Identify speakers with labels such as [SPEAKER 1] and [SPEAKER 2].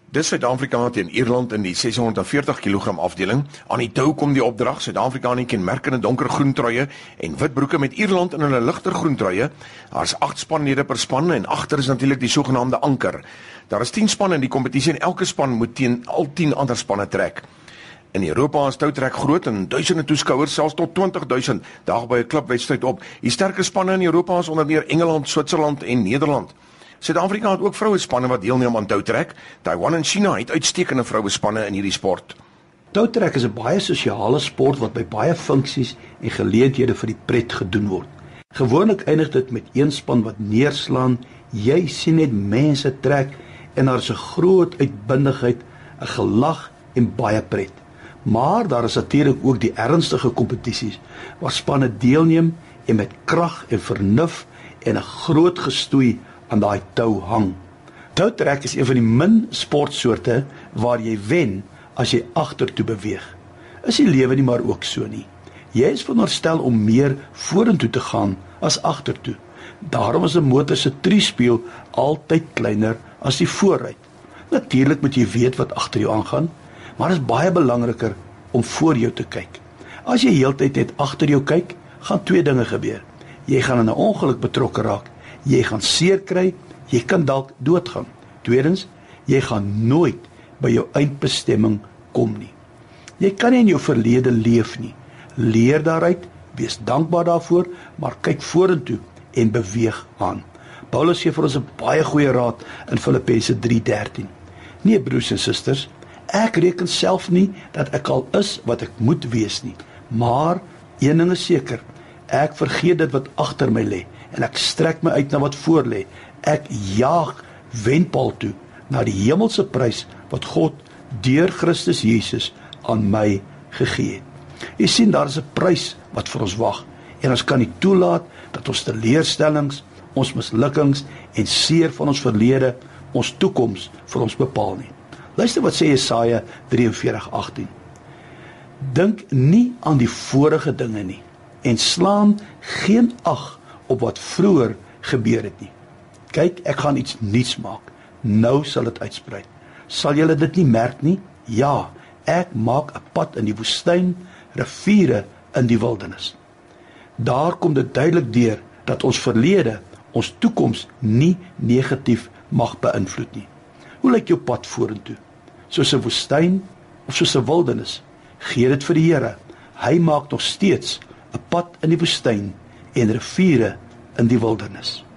[SPEAKER 1] Dis Suid-Afrika teen Ierland in die 640 kg afdeling. Aan die tou kom die opdrag. Suid-Afrika in kenmerkende donkergroen truie en wit broeke met Ierland in hulle ligter groen truie. Daar's 8 spanlede per span en agter is natuurlik die sogenaamde anker. Daar is 10 spanne in die kompetisie en elke span moet teen al 10 ander spanne trek. In Europa is toutrek groot en duisende toeskouers, selfs tot 20.000 daag by 'n klubwedstryd op. Die sterkste spanne in Europa is onder meer Engeland, Switserland en Nederland. Suid-Afrika het ook vrouespanne wat deelneem aan toutrek. Taiwan en China het uitstekende vrouespanne in hierdie sport.
[SPEAKER 2] Toutrek is 'n baie sosiale sport wat by baie funksies en geleenthede vir die pret gedoen word. Gewoonlik eindig dit met een span wat neerslaan, jy sien net mense trek en daar is 'n groot uitbundigheid, 'n gelag en baie pret. Maar daar is natuurlik ook die ernstige kompetisies waar spanne deelneem en met krag en vernuf en 'n groot gestoei aan daai tou hang. Toutrek is een van die min sportsoorte waar jy wen as jy agtertoe beweeg. Is die lewe nie maar ook so nie? Jy is veronderstel om meer vorentoe te gaan as agtertoe. Daarom is 'n motor se triespieël altyd kleiner as die voorruit. Natuurlik moet jy weet wat agter jou aangaan, maar dit is baie belangriker om voor jou te kyk. As jy heeltyd net agter jou kyk, gaan 2 dinge gebeur. Jy gaan in 'n ongeluk betrokke raak. Jy gaan seer kry, jy kan dalk doodgaan. Tweedens, jy gaan nooit by jou eindbestemming kom nie. Jy kan nie in jou verlede leef nie. Leer daaruit, wees dankbaar daarvoor, maar kyk vorentoe en beweeg aan. Paulus gee vir ons 'n baie goeie raad in Filippense 3:13. Nee, broers en susters, ek reken self nie dat ek al is wat ek moet wees nie, maar een ding is seker, ek vergeet dit wat agter my lê en ek strek my uit na wat voor lê. Ek jaag wenpaal toe na die hemelse prys wat God deur Christus Jesus aan my gegee het. Jy sien, daar is 'n prys wat vir ons wag en ons kan nie toelaat dat ons teleurstellings, ons mislukkings en seer van ons verlede ons toekoms vir ons bepaal nie. Luister wat sê Jesaja 43:18. Dink nie aan die vorige dinge nie en slaan geen ag op wat vroeër gebeur het nie. Kyk, ek gaan iets nuuts maak. Nou sal dit uitsprei. Sal julle dit nie merk nie? Ja, ek maak 'n pad in die woestyn, riviere in die wildernis. Daar kom dit duidelik deur dat ons verlede ons toekoms nie negatief mag beïnvloed nie. Hoe lyk jou pad vorentoe? Soos 'n woestyn of soos 'n wildernis? Gee dit vir die Here. Hy maak nog steeds 'n pad in die woestyn en riviere in die wildernis.